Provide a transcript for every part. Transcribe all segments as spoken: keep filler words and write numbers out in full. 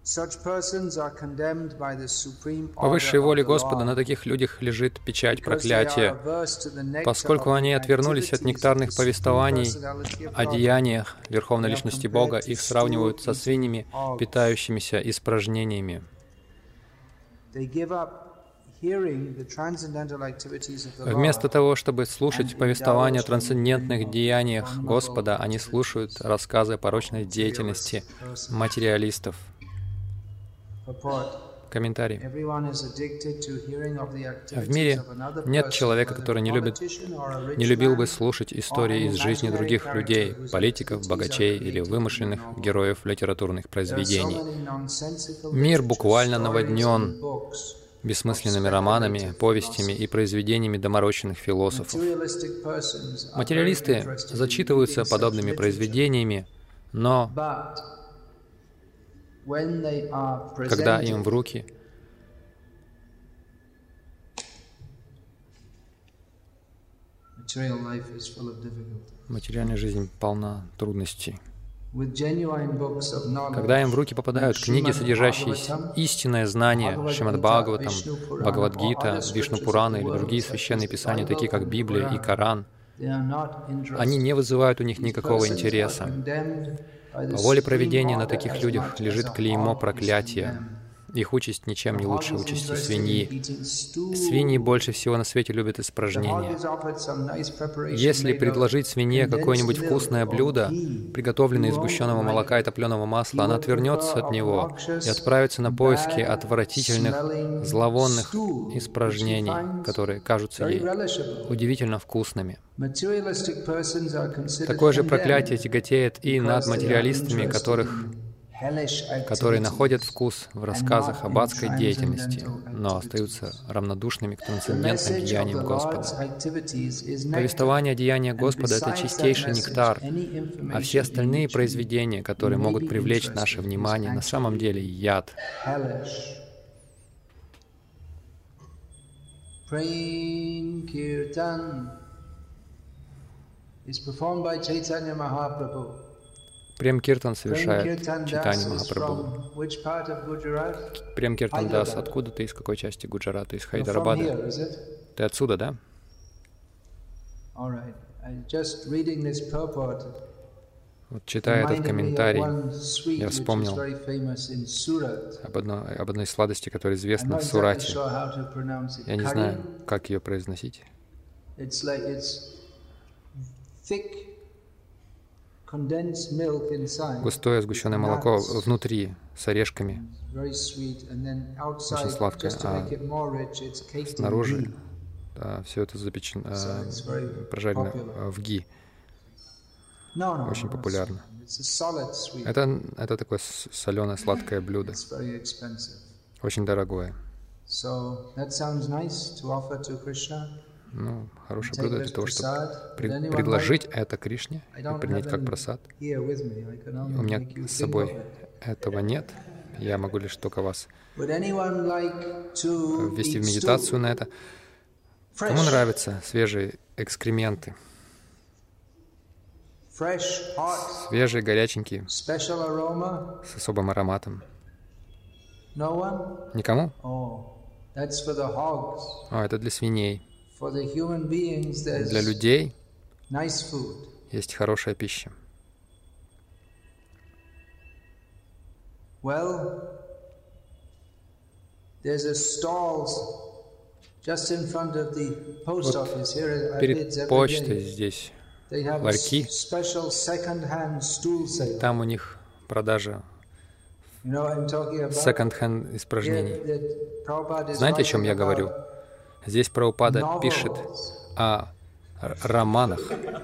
По высшей воле Господа на таких людях лежит печать проклятия, поскольку они отвернулись от нектарных повествований о деяниях Верховной Личности Бога, их сравнивают со свиньями, питающимися испражнениями. Вместо того, чтобы слушать повествования о трансцендентных деяниях Господа, они слушают рассказы о порочной деятельности материалистов. Комментарий. В мире нет человека, который не любит, не любил бы слушать истории из жизни других людей, политиков, богачей или вымышленных героев литературных произведений. Мир буквально наводнен бессмысленными романами, повестями и произведениями доморощенных философов. Материалисты зачитываются подобными произведениями, но когда им в руки материальная жизнь полна трудностей. Когда им в руки попадают книги, содержащие истинное знание, Шримад Бхагаватам, Бхагавад-гита, Вишну Пурана или другие священные писания, такие как Библия и Коран, они не вызывают у них никакого интереса. По воле провидения на таких людях лежит клеймо проклятия. Их участь ничем не лучше участи свиньи. Свиньи больше всего на свете любят испражнения. Если предложить свинье какое-нибудь вкусное блюдо, приготовленное из сгущенного молока и топленого масла, она отвернется от него и отправится на поиски отвратительных, зловонных испражнений, которые кажутся ей удивительно вкусными. Такое же проклятие тяготеет и над материалистами, которых которые находят вкус в рассказах об адской деятельности, но остаются равнодушными к трансцендентным деяниям Господа. Повествование о деяниях Господа — это чистейший нектар, а все остальные произведения, которые могут привлечь наше внимание, на самом деле яд. Прем Киртан совершает Чайтанья Махапрабху. Прем Киртан Дас, откуда ты, из какой части Гуджарата? Из Хайдарабада? Ты отсюда, да? Вот читая этот комментарий, я вспомнил об одной, об одной сладости, которая известна в Сурате. Я не знаю, как ее произносить. Густое сгущенное молоко внутри, с орешками, очень сладкое, а снаружи да, все это запечено, э, прожарено э, в ги. Очень популярно. Это, это такое соленое сладкое блюдо, очень дорогое. Ну, хорошее блюдо для того, чтобы пред, предложить это Кришне и принять как прасад. У меня с собой этого нет. Я могу лишь только вас ввести в медитацию на это. Кому нравятся свежие экскременты? Свежие, горяченькие, с особым ароматом. Никому? О, это для свиней. Для людей есть хорошая пища. Вот перед почтой здесь ларьки, там у них продажа секонд-хенд испражнений. Знаете, о чем я говорю? Здесь Прабхупада пишет о романах.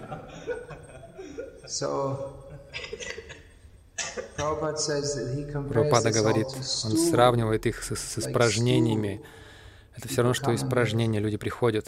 Прабхупада говорит, он сравнивает их с, с испражнениями. Это все равно, что испражнения. Люди приходят.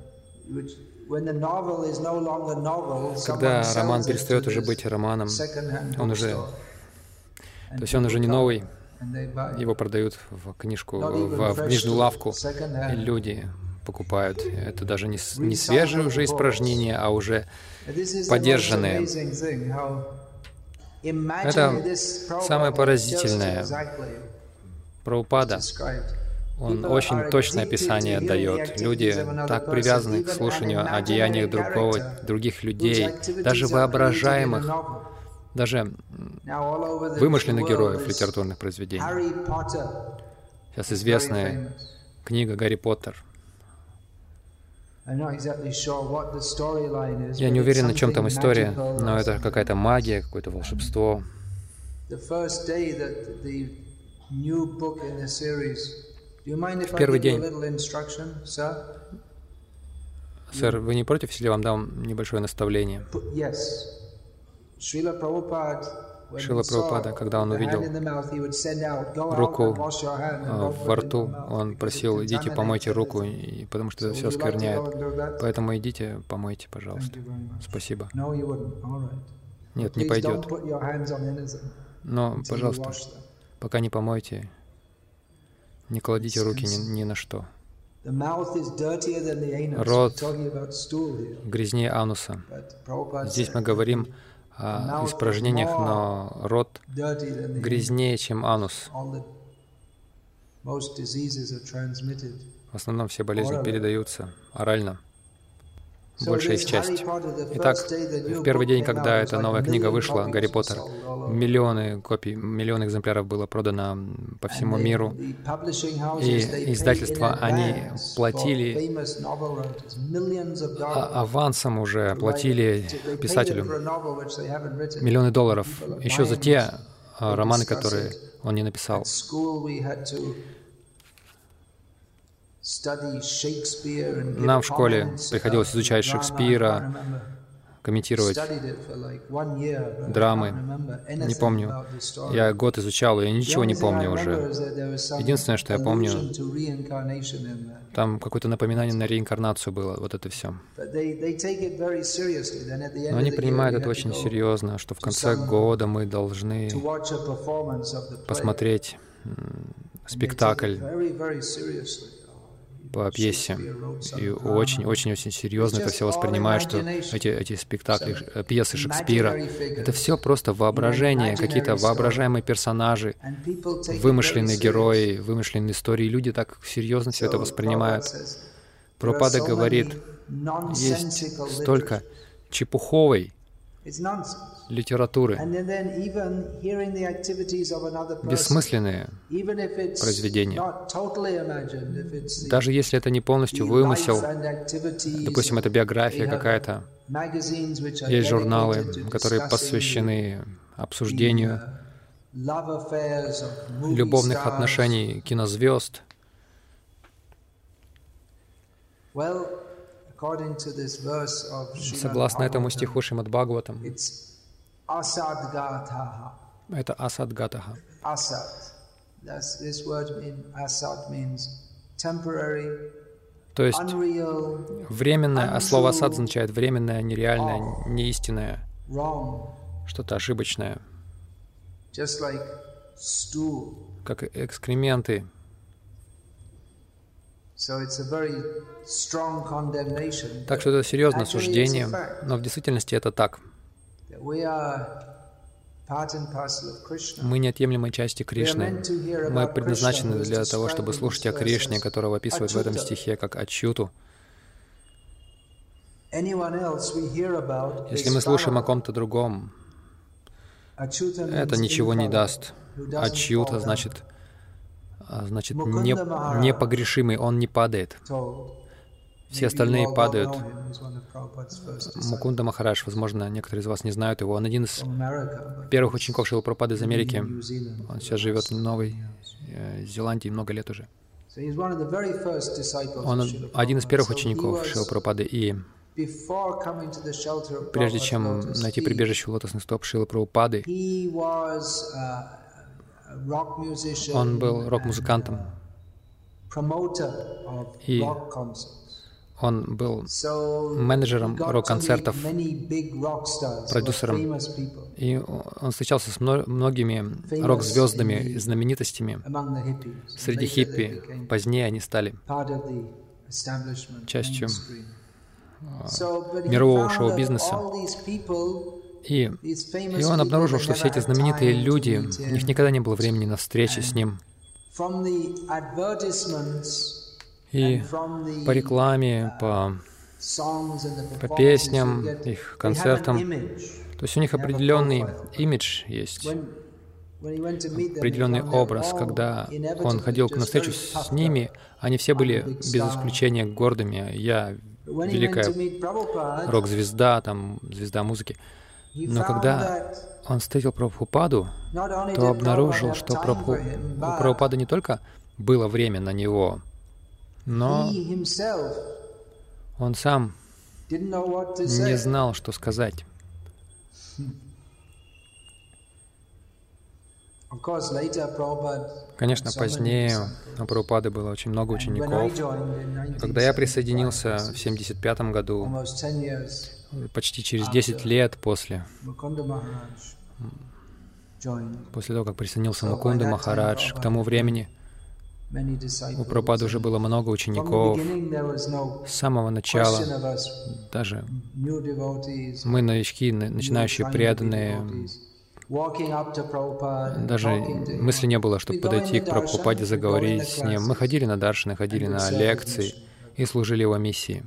Когда роман перестает уже быть романом, он уже, то есть он уже не новый, его продают в книжку, в, в книжную лавку, и люди покупают. Это даже не, не свежие уже испражнения, а уже подержанные. Это самое поразительное. Прабхупада, он очень точное описание дает. Люди так привязаны к слушанию о деяниях другого, других людей, даже воображаемых, даже вымышленных героев литературных произведений. Сейчас известная книга «Гарри Поттер». Я не уверен, о чем там история, но это какая-то магия, какое-то волшебство. В первый день. Сэр, вы не против, если я вам дам небольшое наставление? Шрила Прабхупада, когда он увидел руку во рту, он просил: идите, помойте руку, потому что это все оскверняет. Поэтому идите, помойте, пожалуйста. Спасибо. Нет, не пойдет. Но, пожалуйста, пока не помойте, не кладите руки ни, ни на что. Рот грязнее ануса. Здесь мы говорим о испражнениях, но рот грязнее, чем анус. В основном все болезни передаются орально, большая их часть. Итак, в первый день, когда эта новая книга вышла, «Гарри Поттер», миллионы копий, миллионы экземпляров было продано по всему миру. И издательства, они платили а авансом уже, платили писателю миллионы долларов еще за те романы, которые он не написал. Нам в школе приходилось изучать Шекспира, комментировать драмы. Не помню. Я год изучал, я ничего не помню уже. Единственное, что я помню, там какое-то напоминание на реинкарнацию было, вот это все. Но они принимают это очень серьезно, что в конце года мы должны посмотреть спектакль по пьесе. И очень-очень-очень серьезно это все воспринимают, что эти, эти спектакли, пьесы Шекспира, это все просто воображение, какие-то воображаемые персонажи, вымышленные герои, вымышленные истории. Люди так серьезно все это воспринимают. Прабхупада говорит, есть столько чепуховой литературы, бессмысленные произведения. Даже если это не полностью вымысел, допустим, это биография какая-то, есть журналы, которые посвящены обсуждению любовных отношений кинозвезд. Согласно этому стиху Шримад Бхагаватам, это асадгатаха. То есть временное, а слово асад означает временное, нереальное, неистинное, что-то ошибочное, как экскременты. Так что это серьезное осуждение, но в действительности это так. Мы неотъемлемой части Кришны. Мы предназначены для того, чтобы слушать о Кришне, которого описывают в этом стихе как Ачюту. Если мы слушаем о ком-то другом, это ничего не даст. Ачюта значит... Значит, не, непогрешимый, он не падает. Все остальные падают. Мукунда Махарадж, возможно, некоторые из вас не знают его. Он один из первых учеников Шрилы Прабхупады из Америки. Он сейчас живет в Новой Зеландии много лет уже. Он один из первых учеников Шрилы Прабхупады. И прежде чем найти прибежище у лотосных стоп Шрилы Прабхупады, он был рок-музыкантом, и он был менеджером рок-концертов, продюсером, и он встречался с многими рок-звездами, знаменитостями. Среди хиппи позднее они стали частью мирового шоу-бизнеса. И, и он обнаружил, что все эти знаменитые люди, у них никогда не было времени на встречи с ним. И по рекламе, по, по песням, их концертам, то есть у них определенный имидж есть, определенный образ. Когда он ходил на встречу с ними, они все были без исключения гордыми. Я великая рок-звезда, там, звезда музыки. Но когда он встретил Прабхупаду, то обнаружил, что Прабху... у Прабхупады не только было время на него, но он сам не знал, что сказать. Конечно, позднее у Прабхупады было очень много учеников. Когда я присоединился в семьдесят пятом году, почти через десять лет после, после того, как присоединился Мукунда Махарадж, к тому времени у Прабхупады уже было много учеников. С самого начала даже мы, новички, начинающие преданные, даже мысли не было, чтобы подойти к Прабхупаде, заговорить с ним. Мы ходили на даршаны, ходили на лекции и служили его миссии.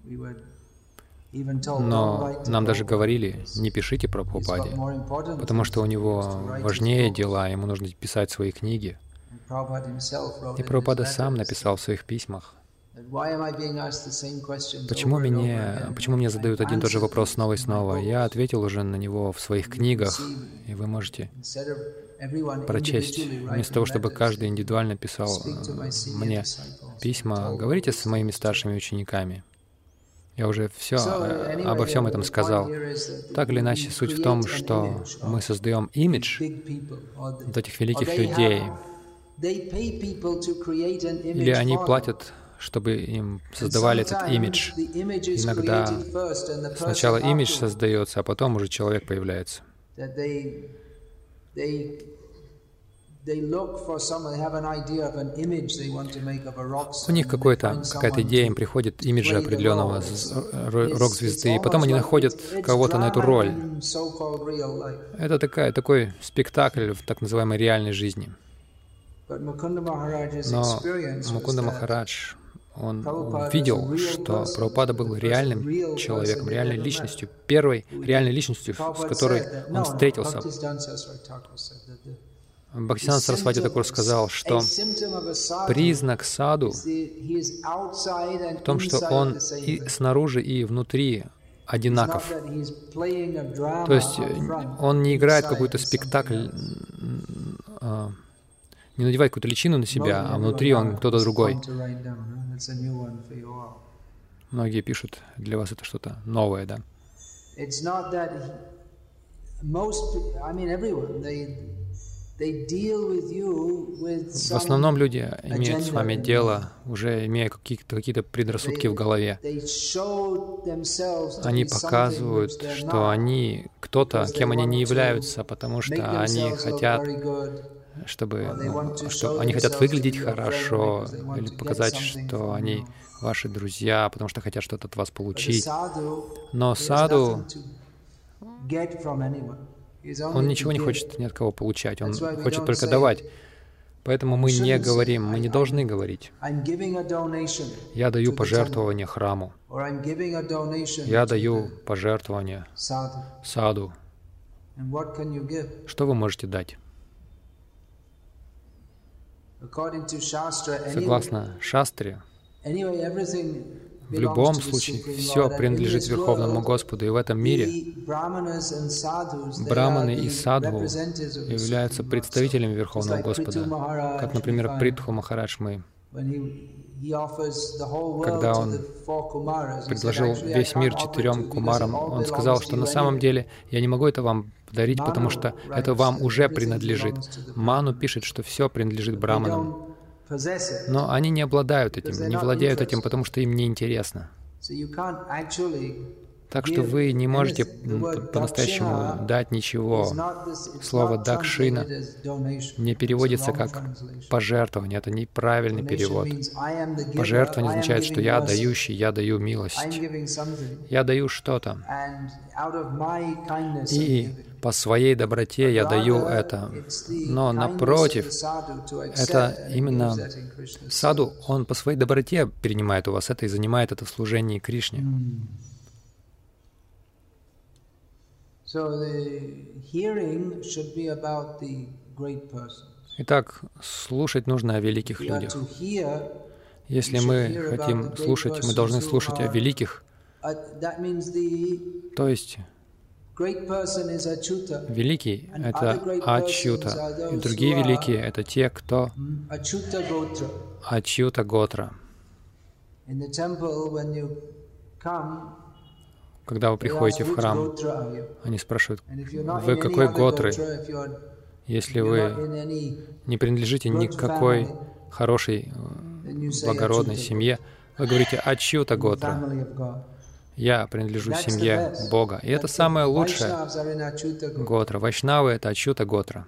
Но нам даже говорили, не пишите Прабхупаде, потому что у него важнее дела, ему нужно писать свои книги. И Прабхупада сам написал в своих письмах, почему мне, почему мне задают один и тот же вопрос снова и снова. Я ответил уже на него в своих книгах, и вы можете прочесть. Вместо того, чтобы каждый индивидуально писал мне письма, говорите с моими старшими учениками. Я уже все, обо всем этом сказал. Так или иначе, суть в том, что мы создаем имидж вот этих великих людей, или они платят, чтобы им создавали этот имидж. Иногда сначала имидж создается, а потом уже человек появляется. У них какая-то идея, им приходит имидж определенного рок-звезды, и потом они находят кого-то на эту роль. Это такая, такой спектакль в так называемой реальной жизни. Но Мукунда Махарадж, он видел, что Прабхупада был реальным человеком, реальной личностью, первой реальной личностью, с которой он встретился. Бхактисиданта Сарасвати Такур сказал, что признак саду в том, что он и снаружи, и внутри одинаков. То есть он не играет какой-то спектакль, не надевает какую-то личину на себя, а внутри он кто-то другой. Многие пишут, для вас это что-то новое, да? В основном люди имеют с вами дело, уже имея какие-то какие-то предрассудки в голове. Они показывают, что они кто-то, кем они не являются, потому что они хотят, чтобы, ну, что они хотят выглядеть хорошо, или показать, что они ваши друзья, потому что хотят что-то от вас получить. Но саду, он ничего не хочет ни от кого получать, он хочет только давать. Поэтому мы не говорим, мы не должны говорить. Я даю пожертвование храму. Я даю пожертвование саду. Что вы можете дать? Согласно Шастре, в любом случае все принадлежит Верховному Господу, и в этом мире браманы и садху являются представителями Верховного Господа. Как, например, Притху Махарадж, мы, когда он предложил весь мир четырем кумарам, он сказал, что на самом деле я не могу это вам подарить, потому что это вам уже принадлежит. Ману пишет, что все принадлежит браманам. Но они не обладают этим, не владеют этим, потому что им не интересно. Так что вы не можете по-настоящему дать ничего. Слово «дакшина» не переводится как «пожертвование». Это неправильный перевод. Пожертвование означает, что я дающий, я даю милость. Я даю что-то. И по своей доброте я даю это. Но напротив, это именно саду, он по своей доброте принимает у вас это и занимает это в служении Кришне. Итак, слушать нужно о великих людях. Если мы хотим слушать, мы должны слушать о великих. То есть великий — это Ачюта, и другие великие — это те, кто Ачюта Готра. Когда вы приходите в храм, они спрашивают, вы какой готры? Если вы не принадлежите никакой хорошей, благородной семье, вы говорите Ачюта Готра. Я принадлежу семье Бога. И это самое лучшее Готра. Вайшнавы — это Ачюта Готра.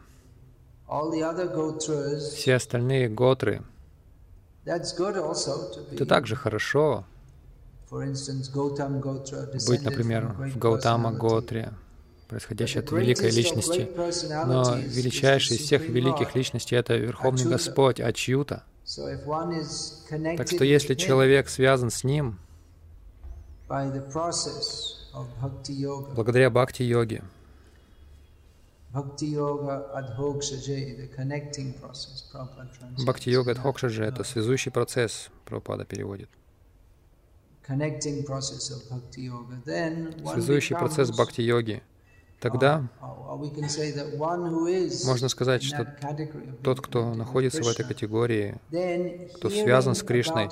Все остальные готры — это также хорошо. Быть, например, в Гаутама Готре, происходящей от великой личности. Но величайший из всех великих личностей — это Верховный Господь, Ачюта. Так что если человек связан с Ним благодаря бхакти-йоге, бхакти-йога адхокшаджи — это связующий процесс, Прабхупада переводит. Связующий процесс бхакти-йоги. Тогда можно сказать, что тот, кто находится в этой категории, кто связан с Кришной,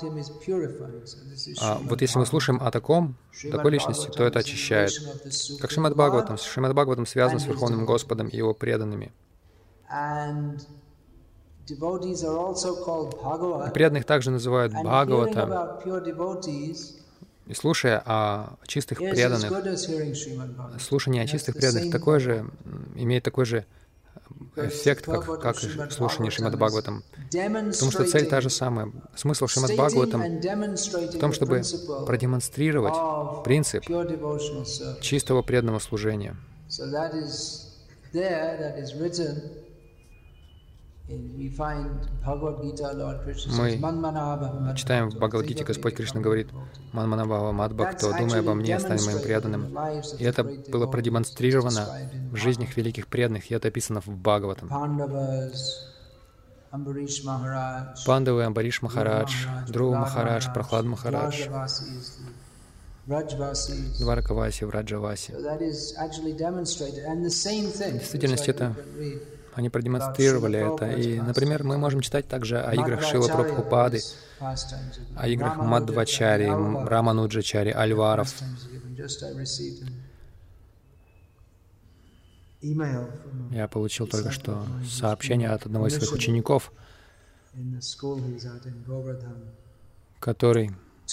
а вот если мы слушаем о таком, такой личности, то это очищает. Как Шримад Бхагаватам. Шримад Бхагаватам связан с Верховным Господом и Его преданными. И преданных также называют Бхагаватам. И слушая о чистых преданных, слушание о чистых преданных такой же, имеет такой же эффект, как, как и слушание Шримад Бхагаватам. Потому что цель та же самая. Смысл Шримад Бхагаватам в том, чтобы продемонстрировать принцип чистого преданного служения. Мы читаем в Бхагавад-гите, Господь Кришна говорит, «Манманабхава мадбхакто, думай обо мне, стань моим преданным». И это было продемонстрировано в жизнях великих преданных, и это описано в Бхагаватам. Пандавы, Амбариш Махарадж, Друва Махарадж, Прахлад Махарадж, Дваракаваси, Враджаваси. В действительности это... Они продемонстрировали это. И, например, мы можем читать также о играх Шрила Прабхупады, о играх Мадхвачари, Рамануджачари, Альваров. Я получил только что сообщение от одного из своих учеников, который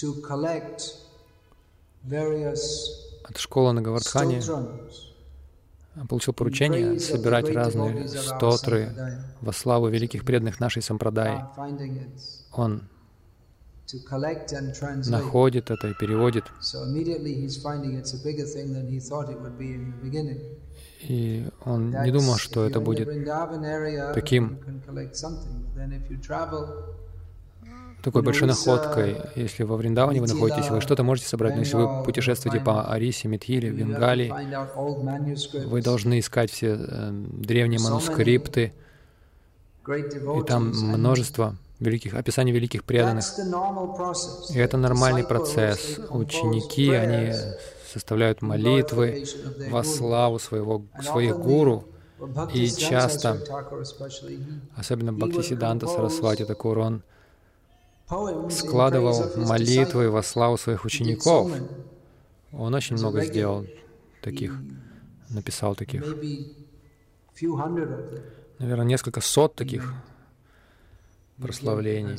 от школы на Говардхане получил поручение собирать разные стотры во славу великих преданных нашей сампрадаи. Он находит это и переводит. И он не думал, что это будет таким, такой большой находкой. Если во Вриндаване вы находитесь, вы что-то можете собрать, но если вы путешествуете по Арисе, Митхиле, Бенгалии, вы должны искать все э, древние манускрипты, и там множество великих, описаний великих преданных. И это нормальный процесс. Ученики, они составляют молитвы во славу своего, своих гуру, и часто, особенно Бхактисиданта Сарасвати Такур, он складывал молитвы во славу своих учеников. Он очень много сделал таких, написал таких. Наверное, несколько сот таких прославлений.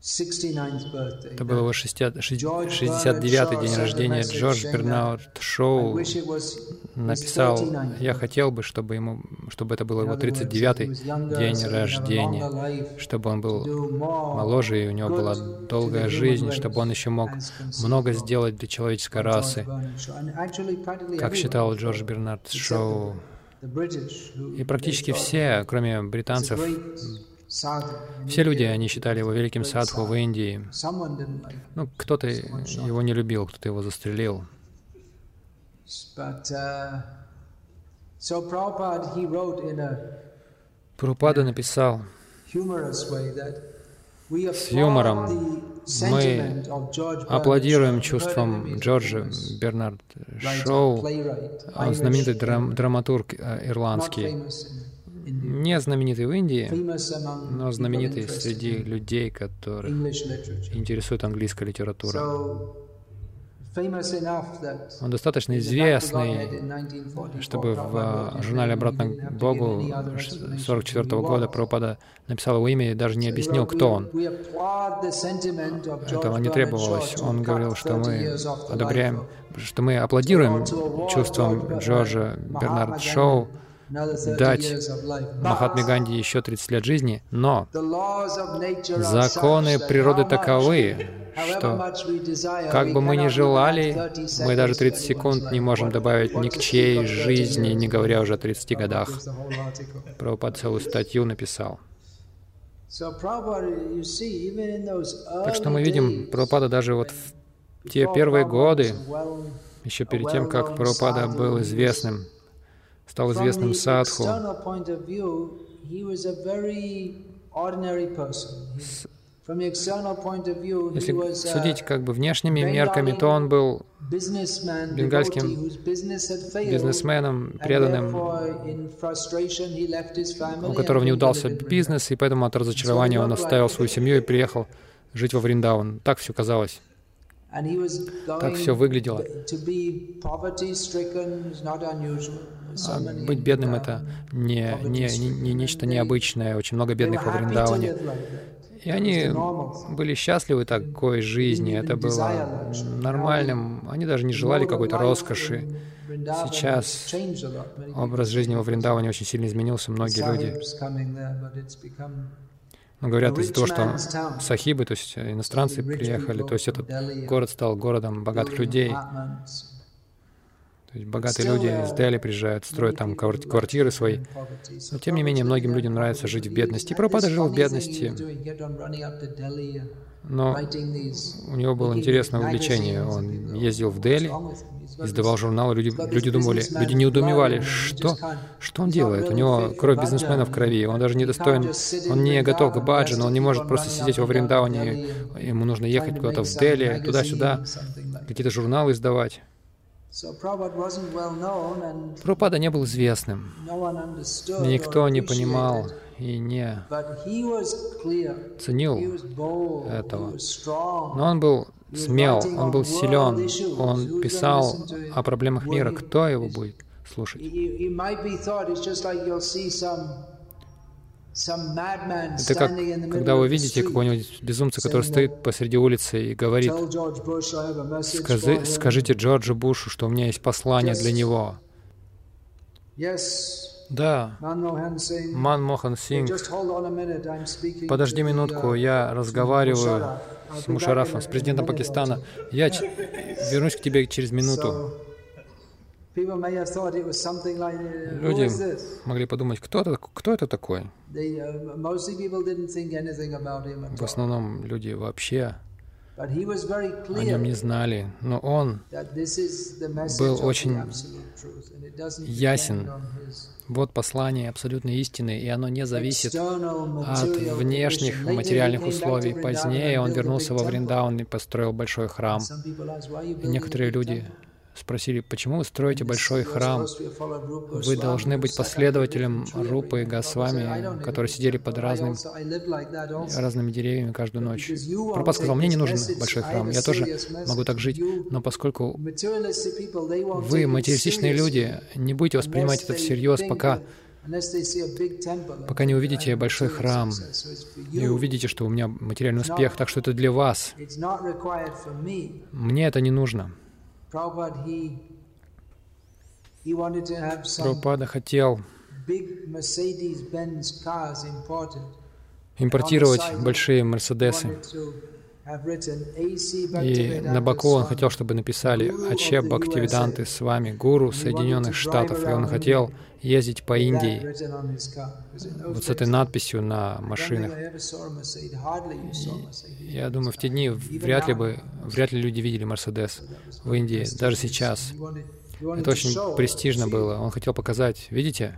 Это был его шестьдесят девятый день рождения. Джордж Бернард Шоу написал: «Я хотел бы, чтобы, ему, чтобы это был его тридцать девятый день рождения, чтобы он был моложе, и у него была долгая жизнь, чтобы он еще мог много сделать для человеческой расы», как считал Джордж Бернард Шоу. И практически все, кроме британцев, все люди, они считали его великим садху в Индии. Ну, кто-то его не любил, кто-то его застрелил. Прабхупада написал с юмором: «Мы аплодируем чувствам Джорджа Бернард Шоу». Он знаменитый драм драматург ирландский. Не знаменитый в Индии, но знаменитый среди людей, которых интересует английская литература. Он достаточно известный, чтобы в журнале «Обратно к Богу» тысяча девятьсот сорок четвёртого года Прабхупада написал его имя и даже не объяснил, кто он. Этого не требовалось. Он говорил, что мы одобряем, что мы аплодируем чувствам Джорджа Бернард Шоу дать Махатме Ганди еще тридцать лет жизни, но законы природы таковы, что как бы мы ни желали, мы даже тридцать секунд не можем добавить ни к чьей жизни, не говоря уже о тридцати годах. Прабхупада целую статью написал. Так что мы видим, Прабхупада даже вот в те первые годы, еще перед тем, как Прабхупада был известным, стал известным садху, если судить как бы внешними мерками, то он был бенгальским бизнесменом, преданным, у которого не удался бизнес, и поэтому от разочарования он оставил свою семью и приехал жить во Вриндаван. Так все казалось. Так все выглядело. А быть бедным — это не, не, не, не нечто необычное. Очень много бедных во Вриндаване. И они были счастливы такой жизни. Это было нормальным. Они даже не желали какой-то роскоши. Сейчас образ жизни во Вриндаване очень сильно изменился. Многие люди, ну, говорят, из-за того, что сахибы, то есть иностранцы приехали, то есть этот город стал городом богатых людей. То есть богатые люди из Дели приезжают, строят там квартиры свои. Но тем не менее, многим людям нравится жить в бедности. И Прабхупада жил в бедности. Но у него было интересное увлечение. Он ездил в Дели, издавал журналы. Люди, люди думали, люди неудумевали, что, что он делает. У него кровь бизнесмена в крови. Он даже не достоин, он не готов к баджану, он не может просто сидеть во Вриндаване. Ему нужно ехать куда-то в Дели, туда-сюда, какие-то журналы издавать. Прабхупада не был известным. Никто не понимал и не ценил этого. Но он был смел, он был силен, он писал о проблемах мира. Кто его будет слушать? Это как, когда вы видите какого-нибудь безумца, который стоит посреди улицы и говорит: Скажи, «Скажите Джорджу Бушу, что у меня есть послание для него». Да, Манмохан Сингх. Подожди минутку, я разговариваю с Мушаррафом, с президентом Пакистана. Я вернусь к тебе через минуту. Люди могли подумать, кто это, кто это такой? В основном люди вообще о нем не знали, но он был очень ясен. Вот послание абсолютной истины, и оно не зависит от внешних материальных условий. Позднее он вернулся во Вриндаван и построил большой храм. И некоторые люди спросили, почему вы строите большой храм? Вы должны быть последователем Рупы Госвами, которые сидели под разным, разными деревьями каждую ночь. Прабхупада сказал, мне не нужен большой храм, я тоже могу так жить, но поскольку вы материалистичные люди, не будете воспринимать это всерьез, пока пока не увидите большой храм и увидите, что у меня материальный успех, так что это для вас. Мне это не нужно. Прабхупада хотел импортировать большие Мерседесы. И на боку он хотел, чтобы написали «Аче Бхактивиданты с вами, гуру Соединенных Штатов». И он хотел ездить по Индии вот с этой надписью на машинах. И я думаю, в те дни вряд ли бы, вряд ли люди видели Мерседес в Индии, даже сейчас. Это очень престижно было. Он хотел показать, видите,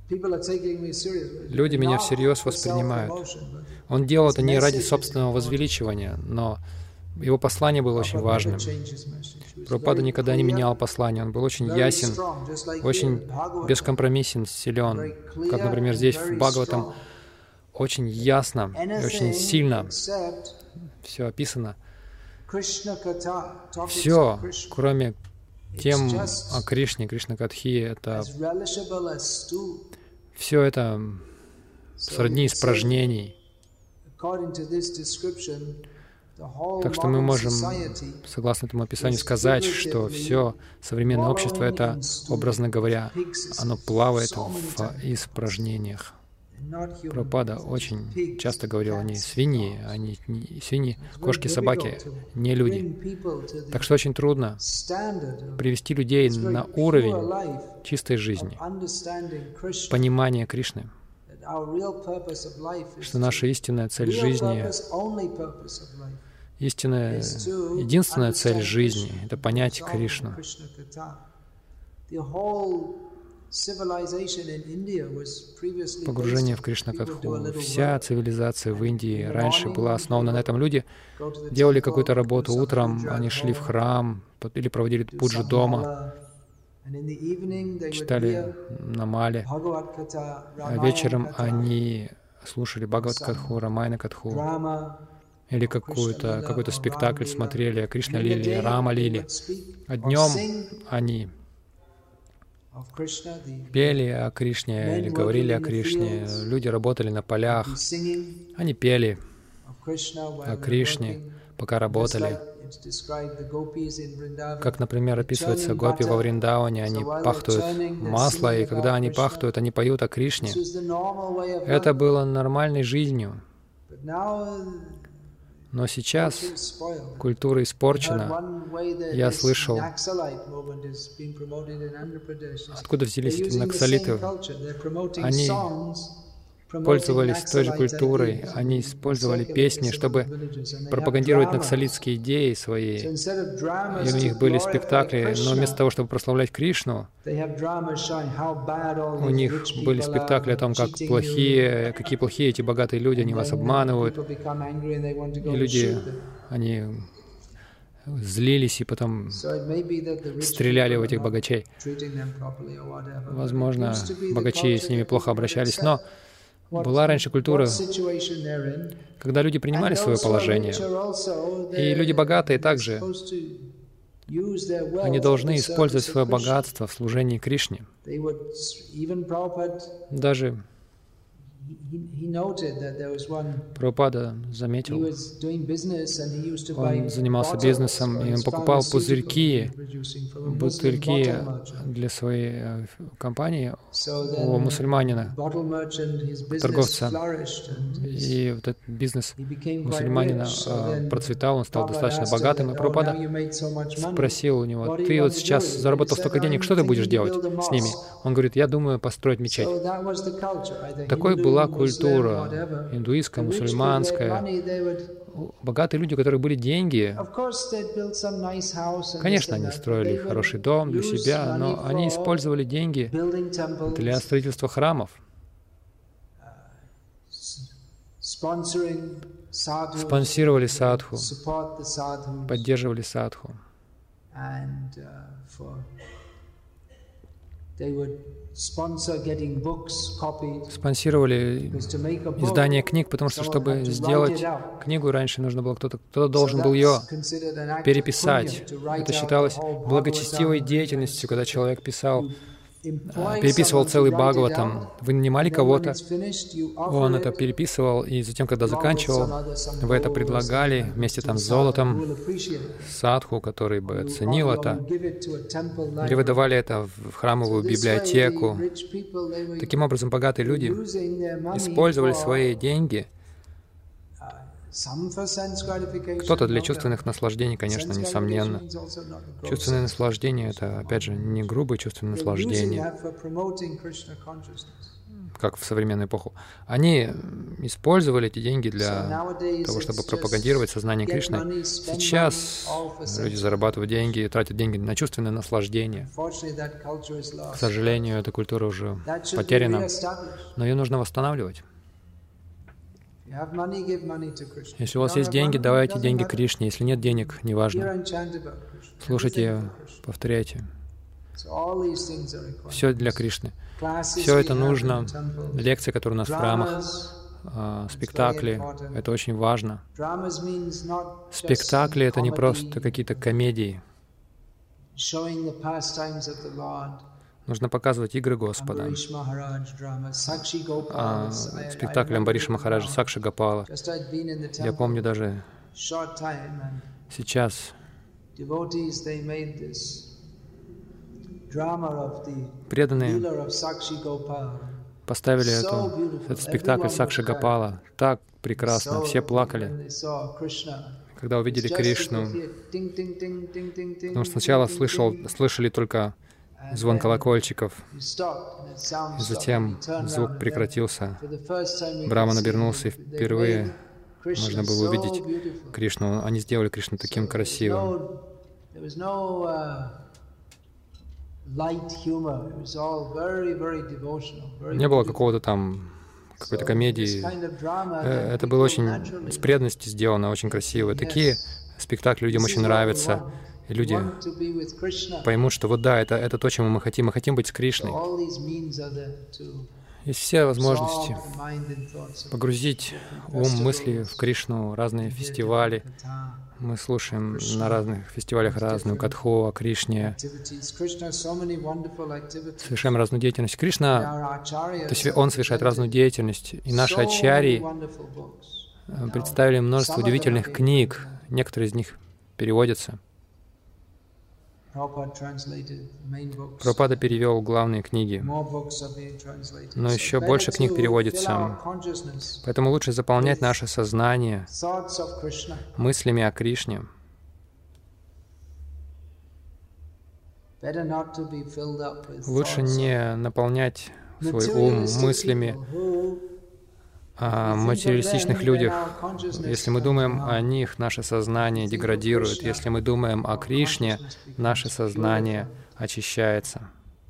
люди меня всерьез воспринимают. Он делал это не ради собственного возвеличивания, но его послание было очень важным. Прабхупада никогда не менял послание, он был очень ясен, очень бескомпромиссен, силен. Как, например, здесь в Бхагаватам очень ясно и очень сильно все описано. Все, кроме тем о Кришне, Кришна-катхи, это все это сродни испражнений. Так что мы можем, согласно этому описанию, сказать, что все современное общество — это, образно говоря, оно плавает в испражнениях. Прабхупада очень часто говорил, они свиньи, они не, свиньи, кошки, собаки, не люди. Так что очень трудно привести людей на уровень чистой жизни, понимания Кришны, что наша истинная цель жизни, истинная, единственная цель жизни — это понять Кришну. Погружение в Кришна-катху. Вся цивилизация в Индии раньше была основана на этом. Люди делали какую-то работу утром, они шли в храм или проводили пуджу дома, читали намали, а вечером они слушали Бхагават-катху, Рамайна-катху, или какую-то, какой-то спектакль смотрели, Кришна-лили, Рама-лили. А днем они пели о Кришне или говорили о Кришне. Люди работали на полях, они пели о Кришне, пока работали. Как, например, описывается гопи во Вриндауне, они пахтуют масло, и когда они пахтуют, они поют о Кришне. Это было нормальной жизнью. Но сейчас культура испорчена. Я слышал, откуда взялись эти наксалиты. Они пользовались той же культурой, они использовали песни, чтобы пропагандировать наксалитские идеи свои. И у них были спектакли, но вместо того, чтобы прославлять Кришну, у них были спектакли о том, как плохие, какие плохие эти богатые люди, они вас обманывают. И люди, они злились и потом стреляли в этих богачей. Возможно, богачи с ними плохо обращались, но была раньше культура, когда люди принимали свое положение. И люди богатые также, они должны использовать свое богатство в служении Кришне. Даже Прабхупада заметил, он занимался бизнесом, и он покупал пузырьки, бутыльки для своей компании у мусульманина, торговца. И вот этот бизнес мусульманина процветал, он стал достаточно богатым, и Прабхупада спросил у него: «Ты вот сейчас заработал столько денег, что ты будешь делать с ними?» Он говорит: «Я думаю построить мечеть». Такой был была культура индуистская, мусульманская. Богатые люди, у которых были деньги, конечно, они строили хороший дом для себя, но они использовали деньги для строительства храмов, спонсировали садху, поддерживали садху. Спонсировали издание книг, потому что, чтобы сделать книгу, раньше нужно было кто-то, кто-то должен был ее переписать. Это считалось благочестивой деятельностью, когда человек писал переписывал целый Бхагаватам. Вы нанимали кого-то, он это переписывал, и затем, когда заканчивал, вы это предлагали вместе там с золотом садху, который бы оценил это, или вы давали это в храмовую библиотеку. Таким образом, богатые люди использовали свои деньги. Кто-то для чувственных наслаждений, конечно, несомненно. Чувственное наслаждение — это, опять же, не грубое чувственное наслаждение, как в современную эпоху. Они использовали эти деньги для того, чтобы пропагандировать сознание Кришны. Сейчас люди зарабатывают деньги и тратят деньги на чувственное наслаждение. К сожалению, эта культура уже потеряна, но ее нужно восстанавливать. Если у вас есть деньги, давайте деньги Кришне. Если нет денег, неважно. Слушайте, повторяйте. Все для Кришны. Все это нужно. Лекции, которые у нас в храмах, спектакли — это очень важно. Спектакли — это не просто какие-то комедии. Нужно показывать игры Господа. А, спектакль Амбариша Махараджа, Сакши Гопала. Я помню даже сейчас преданные поставили эту, этот спектакль Сакши Гопала. Так прекрасно, все плакали, когда увидели Кришну. Потому что сначала слышал, слышали только звон колокольчиков, и затем звук прекратился. Браман обернулся, и впервые можно было увидеть Кришну. Они сделали Кришну таким красивым. Не было какого-то там, какой-то комедии. Это было очень с преданностью сделано, очень красиво. Такие спектакли людям очень нравятся. И люди поймут, что вот да, это, это то, чему мы хотим. Мы хотим быть с Кришной. Есть все возможности погрузить ум, мысли в Кришну, разные фестивали. Мы слушаем на разных фестивалях разную катху о Кришне, совершаем разную деятельность. Кришна, то есть Он совершает разную деятельность. И наши ачарьи представили множество удивительных книг. Некоторые из них переводятся. Прабхупада перевел главные книги, но еще больше книг переводится. Поэтому лучше заполнять наше сознание мыслями о Кришне. Лучше не наполнять свой ум мыслями о материалистичных людях. Если мы думаем о них, наше сознание деградирует. Если мы думаем о Кришне, наше сознание очищается.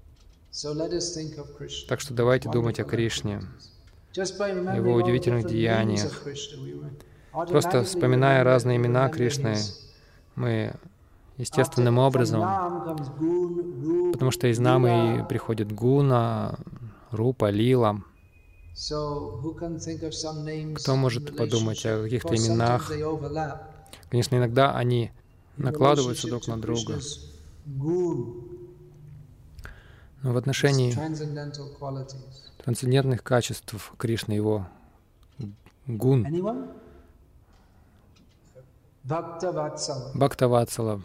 Так что давайте думать о Кришне, Его удивительных деяниях. Просто вспоминая разные имена Кришны, мы естественным образом, потому что из намы и приходит гуна, рупа, лила. Кто может подумать о каких-то именах? Конечно, иногда они накладываются друг на друга. Но в отношении трансцендентных качеств Кришны, Его гун, Бхактаватсала,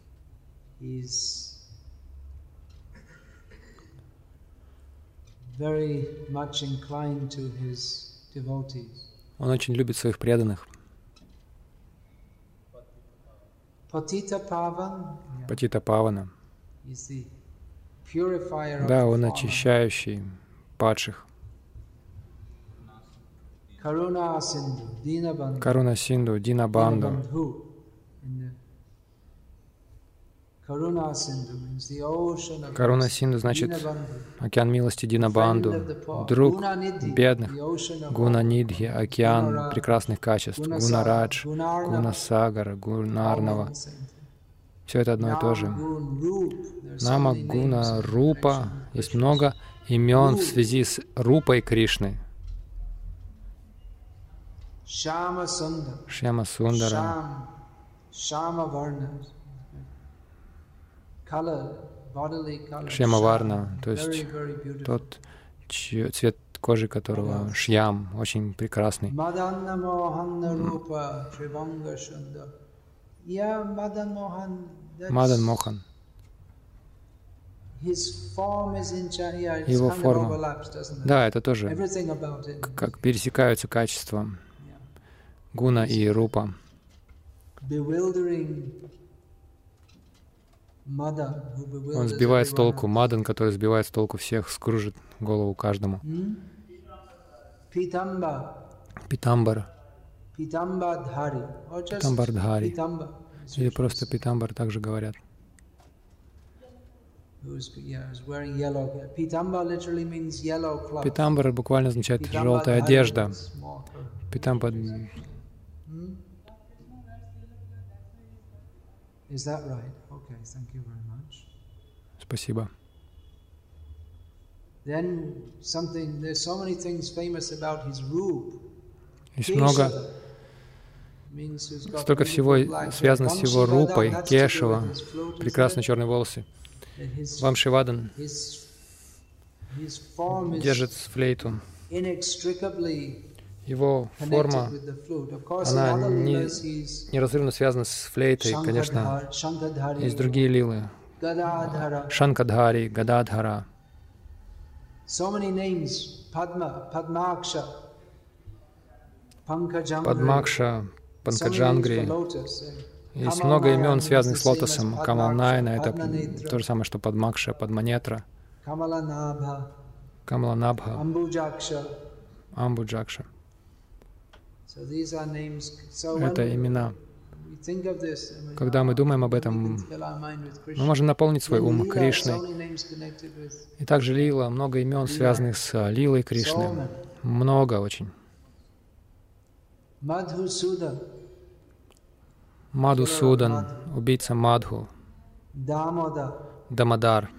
Он очень любит своих преданных. Патита Павана. Да, Он очищающий падших. Каруна Синду, Дина Банду. Каруна Синду значит океан милости Динабанду, друг бедных, Гуна Нидхи, океан прекрасных качеств, Гуна Радж, Гуна Сагара, Гуна Арнава. Все это одно и то же. Нама, Гуна, Рупа. Есть много имен в связи с Рупой Кришны. Шьяма Сундара. Шьяма Варна, то есть тот цвет кожи которого Шьям, очень прекрасный. Мадан Мохан. Его форма. Да, это тоже как пересекаются качества гуна и рупа. Он сбивает с толку Мадан, который сбивает с толку всех, скружит голову каждому. Питамбар. Питамбардхари. Или просто Питамбар также говорят. Питамбар буквально означает желтая одежда. Питамбар. Спасибо. Есть много, столько всего связано с его рупой, Кешава, прекрасные черные волосы. Вамшивадан держит флейту. Его форма, она не, неразрывно связана с флейтой, конечно. Есть другие лилы. Шанкадхари, Гададхара. Падмакша, Панкаджангри. Есть много имен, связанных с лотосом. Камалнайна — это то же самое, что Падмакша, Падманетра. Камаланабха, Амбуджакша. Это имена. Когда мы думаем об этом, мы можем наполнить свой ум Кришной. И также лила, много имен, связанных с лилой Кришны. Много очень. Мадхусудан, убийца Мадху. Дамодар.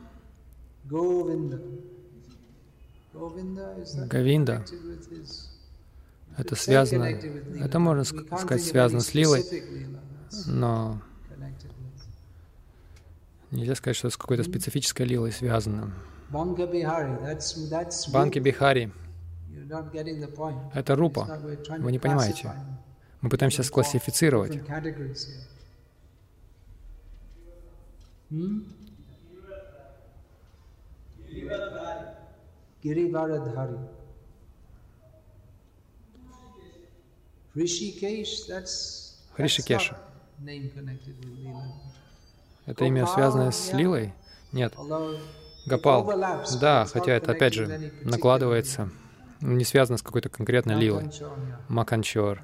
Говинда. Это связано, это можно сказать связано с лилой, но нельзя сказать, что с какой-то специфической лилой связано. Банки Бихари — это рупа. Вы не понимаете. Мы пытаемся склассифицировать. Хришикеша. Это имя связано с лилой? Нет. Гопал. Да, хотя это опять же накладывается, не связано с какой-то конкретной лилой. Маканчор.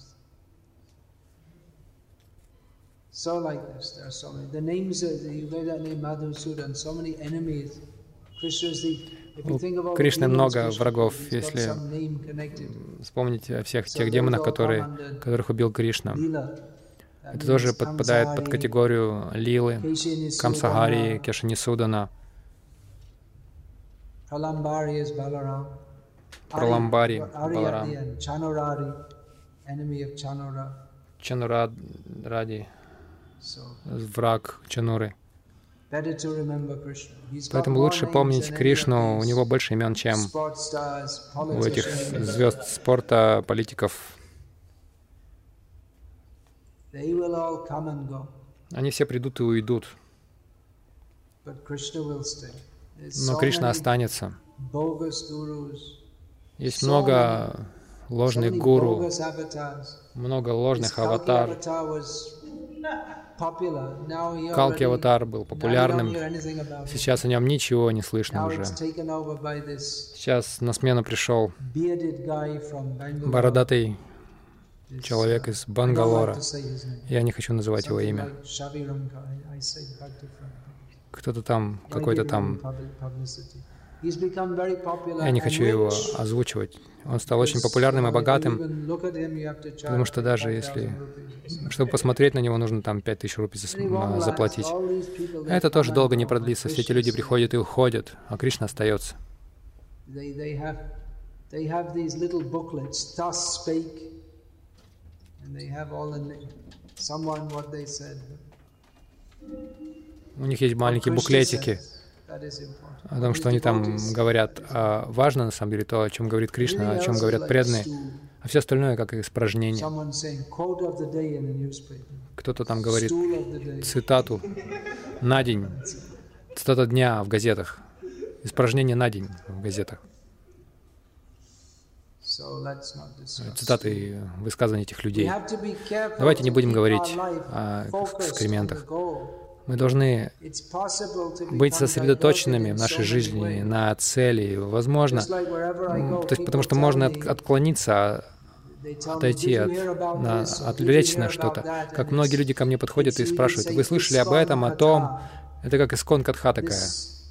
У Кришны много врагов. Если вспомнить о всех тех демонах, которые, которых убил Кришна, это тоже подпадает под категорию лилы, Камсахари, Кешанисудана, Праламбари, Баларам, Чануради, враг Чануры. Поэтому лучше помнить Кришну, у него больше имен, чем у этих звезд спорта, политиков. Они все придут и уйдут. Но Кришна останется. Есть много ложных гуру, много ложных аватар. Калки аватар был популярным. Сейчас о нем ничего не слышно уже. Сейчас на смену пришел бородатый человек из Бангалора. Я не хочу называть его имя. Кто-то там, какой-то там. Я не хочу его озвучивать. Он стал очень популярным и богатым, потому что даже если, чтобы посмотреть на него, нужно там пять тысяч рупий заплатить. Это тоже долго не продлится. Все эти люди приходят и уходят, а Кришна остается. У них есть маленькие буклетики о том, что они там говорят. А важно, на самом деле, то, о чем говорит Кришна, о чем говорят преданные, а все остальное как испражнение. Кто-то там говорит цитату на день, цитата дня в газетах, испражнение на день в газетах. Цитаты высказываний этих людей. Давайте не будем говорить о экскрементах. Мы должны быть сосредоточенными в нашей жизни на цели. Возможно, то есть, потому что можно от, отклониться, отойти, от, на, отвлечься на что-то. Как многие люди ко мне подходят и спрашивают: вы слышали об этом, о том? Это как искон катха такая.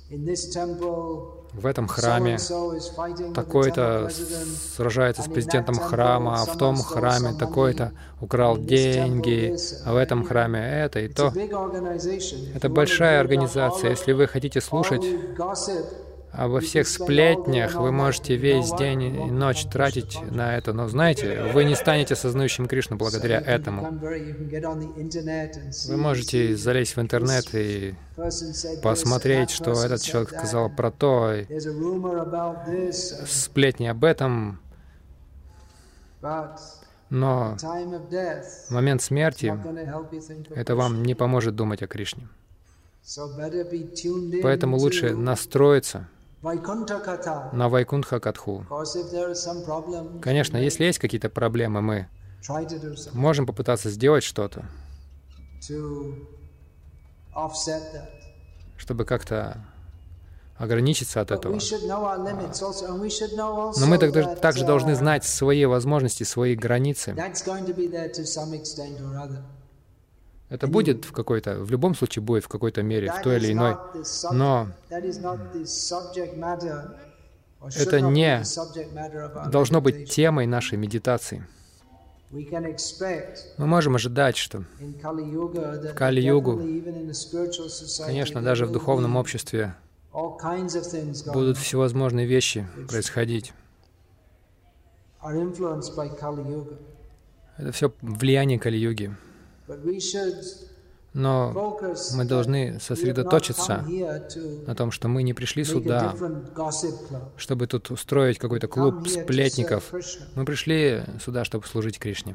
В этом храме такой-то сражается с президентом храма, а в том храме такой-то украл деньги, а в этом храме это и то. Это большая организация. Если вы хотите слушать обо всех сплетнях, вы можете весь день и ночь тратить на это. Но знаете, вы не станете сознающим Кришну благодаря этому. Вы можете залезть в интернет и посмотреть, что этот человек сказал про то, и сплетни об этом. Но в момент смерти это вам не поможет думать о Кришне. Поэтому лучше настроиться на Вайкунтха Катху. Конечно, если есть какие-то проблемы, мы можем попытаться сделать что-то, чтобы как-то ограничиться от этого. Но мы также, также должны знать свои возможности, свои границы. Это будет в какой-то, в любом случае будет в какой-то мере, в той или иной. Но это не должно быть темой нашей медитации. Мы можем ожидать, что в Кали-югу, конечно, даже в духовном обществе будут всевозможные вещи происходить. Это все влияние Кали-юги. Но мы должны сосредоточиться на том, что мы не пришли сюда, чтобы тут устроить какой-то клуб сплетников. Мы пришли сюда, чтобы служить Кришне.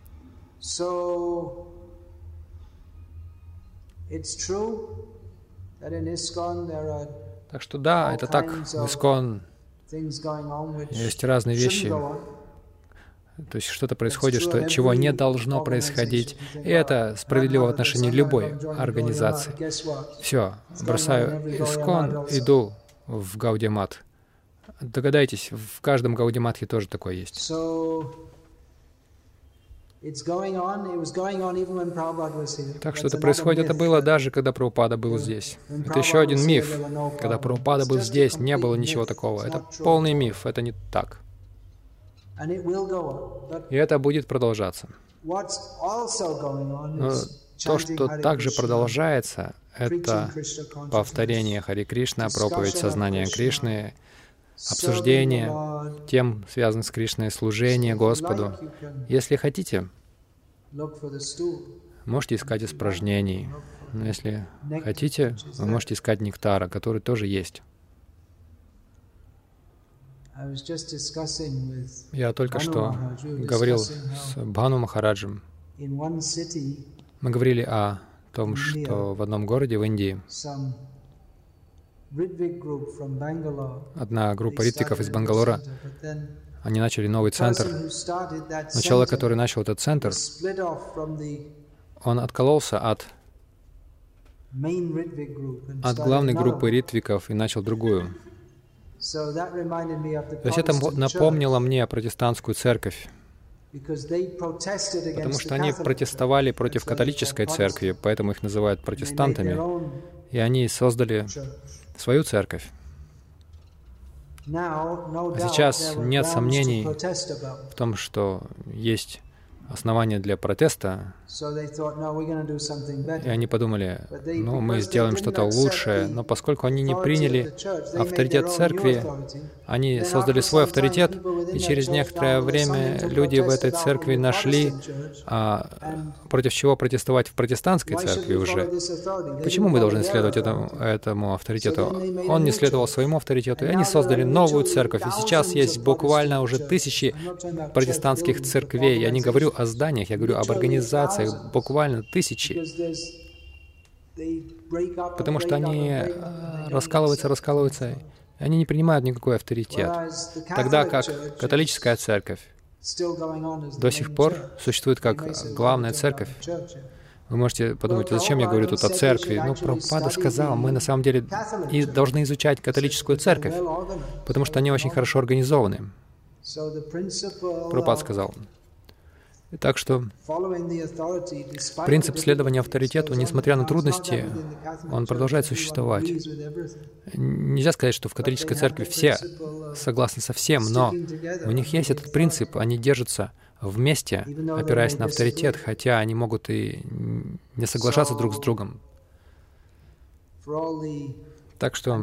Так что да, это так, в Искон есть разные вещи. То есть что-то происходит, что, чего не должно происходить. И это справедливо в отношении любой организации. Все, бросаю Искон, иду в Гаудия-мат. Догадайтесь, в каждом Гаудия-матхе тоже такое есть. Так что это происходит, это было даже, когда Прабхупада был здесь. Это еще один миф. Когда Прабхупада был здесь, не было ничего такого. Это полный миф, это не так. И это будет продолжаться. Но то, что также продолжается, это повторение Хари Кришна, проповедь сознания Кришны, обсуждение тем, связанных с Кришной, служение Господу. Если хотите, можете искать испражнений. Но если хотите, вы можете искать нектара, который тоже есть. Я только что говорил с Бхану Махараджем. Мы говорили о том, что в одном городе в Индии одна группа ритвиков из Бангалора, они начали новый центр. Но человек, который начал этот центр, он откололся от, от главной группы ритвиков и начал другую. То есть это напомнило мне протестантскую церковь, потому что они протестовали против католической церкви, поэтому их называют протестантами, и они создали свою церковь. А сейчас нет сомнений в том, что есть основание для протеста, и они подумали, ну, мы сделаем что-то лучшее, но поскольку они не приняли авторитет церкви, они создали свой авторитет, и через некоторое время люди в этой церкви нашли, а, против чего протестовать в протестантской церкви уже. Почему мы должны следовать этому, этому авторитету? Он не следовал своему авторитету, и они создали новую церковь, и сейчас есть буквально уже тысячи протестантских церквей. Я не говорю о зданиях, я говорю об организациях, буквально тысячи. Потому что они раскалываются, раскалываются, и они не принимают никакой авторитет. Тогда как католическая церковь до сих пор существует как главная церковь. Вы можете подумать, зачем я говорю тут о церкви? Ну, Прабхупада сказал, мы на самом деле и должны изучать католическую церковь, потому что они очень хорошо организованы. Прабхупада сказал. Так что принцип следования авторитету, несмотря на трудности, он продолжает существовать. Нельзя сказать, что в католической церкви все согласны со всем, но у них есть этот принцип, они держатся вместе, опираясь на авторитет, хотя они могут и не соглашаться друг с другом. Так что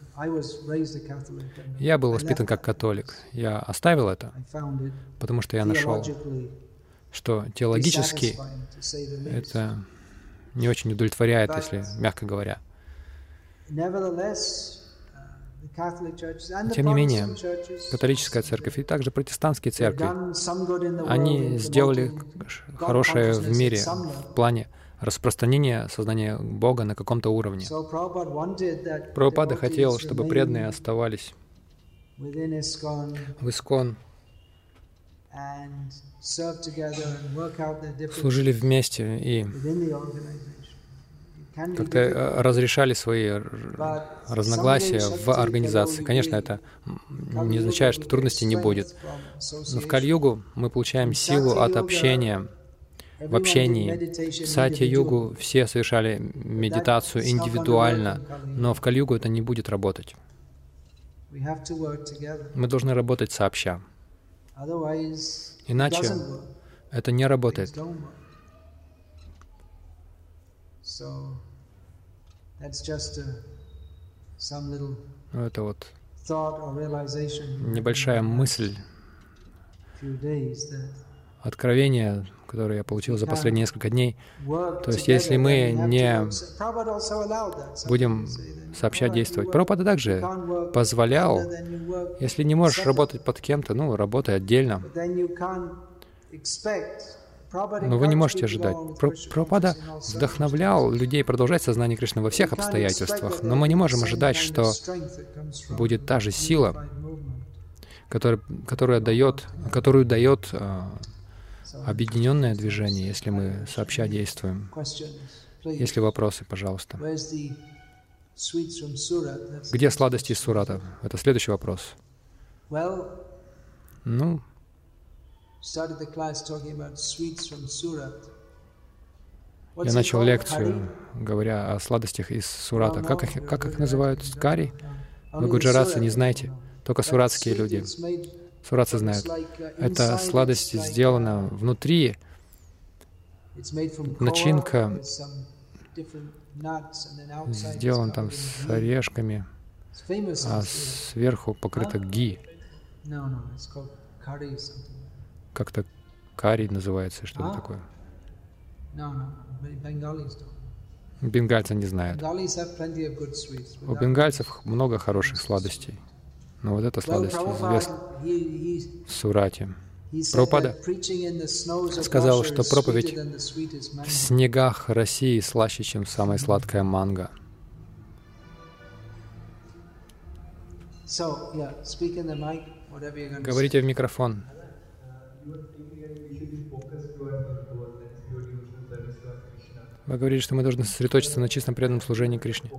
я был воспитан как католик. Я оставил это, потому что я нашел, что теологически это не очень удовлетворяет, если мягко говоря. Тем не менее, католическая церковь и также протестантские церкви, они сделали хорошее в мире в плане распространения сознания Бога на каком-то уровне. Прабхупада хотел, чтобы преданные оставались в Искон, служили вместе и как-то разрешали свои разногласия в организации. Конечно, это не означает, что трудностей не будет. Но в Кали-югу мы получаем силу от общения, в общении. В Сатья-югу все совершали медитацию индивидуально, но в Кали-югу это не будет работать. Мы должны работать сообща. Иначе это не работает. Это вот небольшая мысль, откровение, которое я получил за последние несколько дней. То есть, если мы не будем сообща действовать. Прабхупада также позволял, если не можешь работать под кем-то, ну, работай отдельно. Но вы не можете ожидать. Прабхупада вдохновлял людей продолжать сознание Кришны во всех обстоятельствах, но мы не можем ожидать, что будет та же сила, которая, которая дает, которую дает а, объединенное движение, если мы сообща действуем. Есть ли вопросы, пожалуйста? Где сладости из Сурата? Это следующий вопрос. Ну, я начал лекцию, говоря о сладостях из Сурата. Как их, как их называют? Кари? Вы гуджаратцы не знаете, только суратские люди. Суратцы знают. Эта сладость сделана внутри, начинка сделана там с орешками, а сверху покрыта ги. Как-то карри называется, что-то такое. Бенгальцы не знают. У бенгальцев много хороших сладостей. Но вот эта сладость известна в Сурате. Прабхупада сказал, что проповедь в снегах России слаще, чем самая сладкая манго. Говорите в микрофон. Вы говорите, что мы должны сосредоточиться на чистом преданном служении Кришне.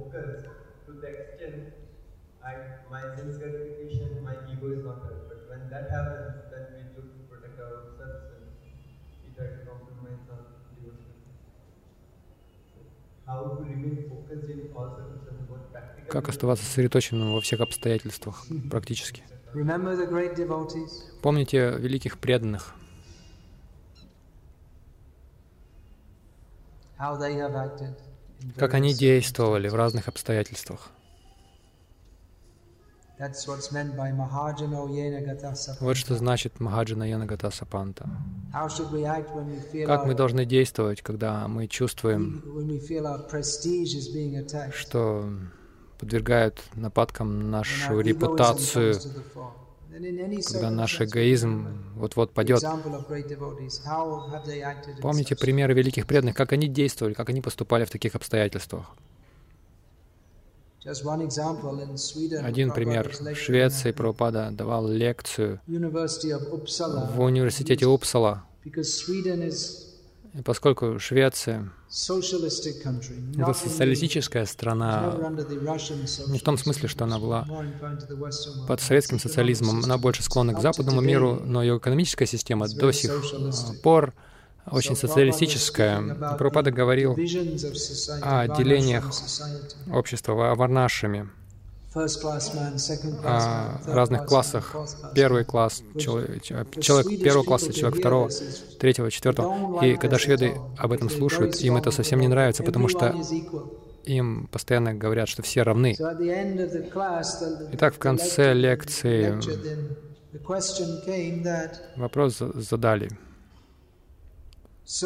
Как оставаться сосредоточенным во всех обстоятельствах практически? Помните великих преданных. как они действовали в разных обстоятельствах. Вот что значит Махаджана Йена Гата Сапанта. Как мы должны действовать, когда мы чувствуем, что подвергают нападкам нашу репутацию, когда наш эгоизм вот-вот падет. Помните примеры великих преданных, как они действовали, как они поступали в таких обстоятельствах. Один пример. В Швеции Прабхупада давал лекцию в университете Упсала. И поскольку Швеция — это социалистическая страна, не в том смысле, что она была под советским социализмом, она больше склонна к западному миру, но ее экономическая система до сих пор очень социалистическая. Прабхупада говорил о делениях общества, о варнашами, о разных классах. Первый класс, человек, человек первого класса, человек второго, третьего, четвертого. И когда шведы об этом слушают, им это совсем не нравится, потому что им постоянно говорят, что все равны. Итак, в конце лекции вопрос задали. С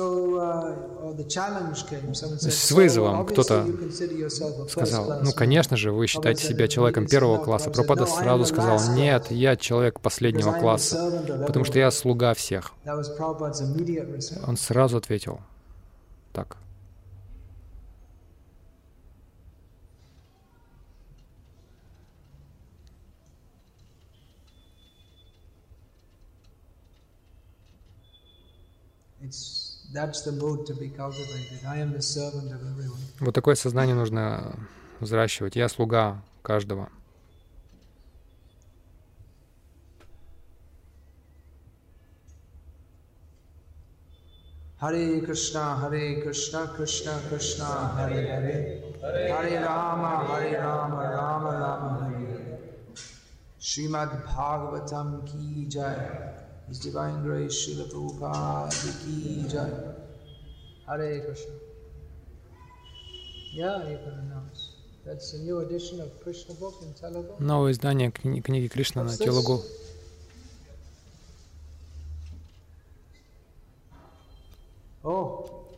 вызовом кто-то сказал: ну, конечно же, вы считаете себя человеком первого класса. Прабхупада сразу сказал: нет, я человек последнего класса, потому что я слуга всех. Он сразу ответил так. Вот такое сознание нужно взращивать. Я слуга каждого. Харе Кришна, Харе Кришна, Кришна Кришна, Харе Харе, Харе Рама, Харе Рама, Рама Рама, Харе Харе. Шримад Бхагаватам ки джай. His Divine Grace, Srila Prabhupada ki jai. Hare Krishna. Yeah, you can announce. That's a new edition of Krishna book in Telugu. Новое издание кни- книги Кришна на Телугу. Oh,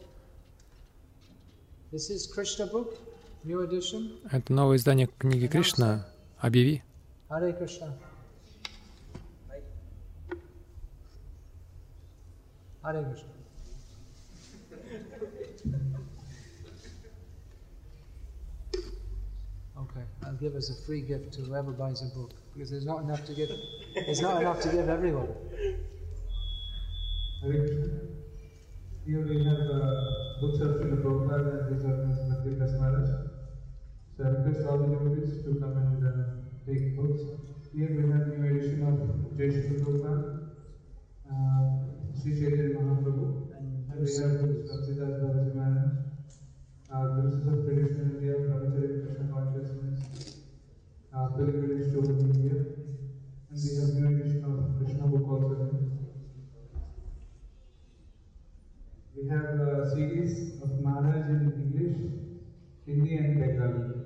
this is Krishna book, new edition. Это новое издание книги Кришна. Объяви. Hare Krishna. Hare Krishna. Okay, I'll give as a free gift to whoever buys a book, because there's not enough to give. There's not enough to give everyone. Hare Krishna. Here we have uh, books of Srila Prabhupada and these are Miz Bhakti Das Maharaj. So I request all the devotees to come and uh, take books. Here we have new edition of Jai Srila Prabhupada, uh, Sri Chaitanya Mahaprabhu. And we have books of Siddhartha Balaji Maharaj, uh, Glimpses of Traditional India, Brahmacharya Krishna Consciousness, uh, Pilgrimage to India. And we have new edition of Krishna book also. We have a series of Maharaj in English, Hindi and Bengali.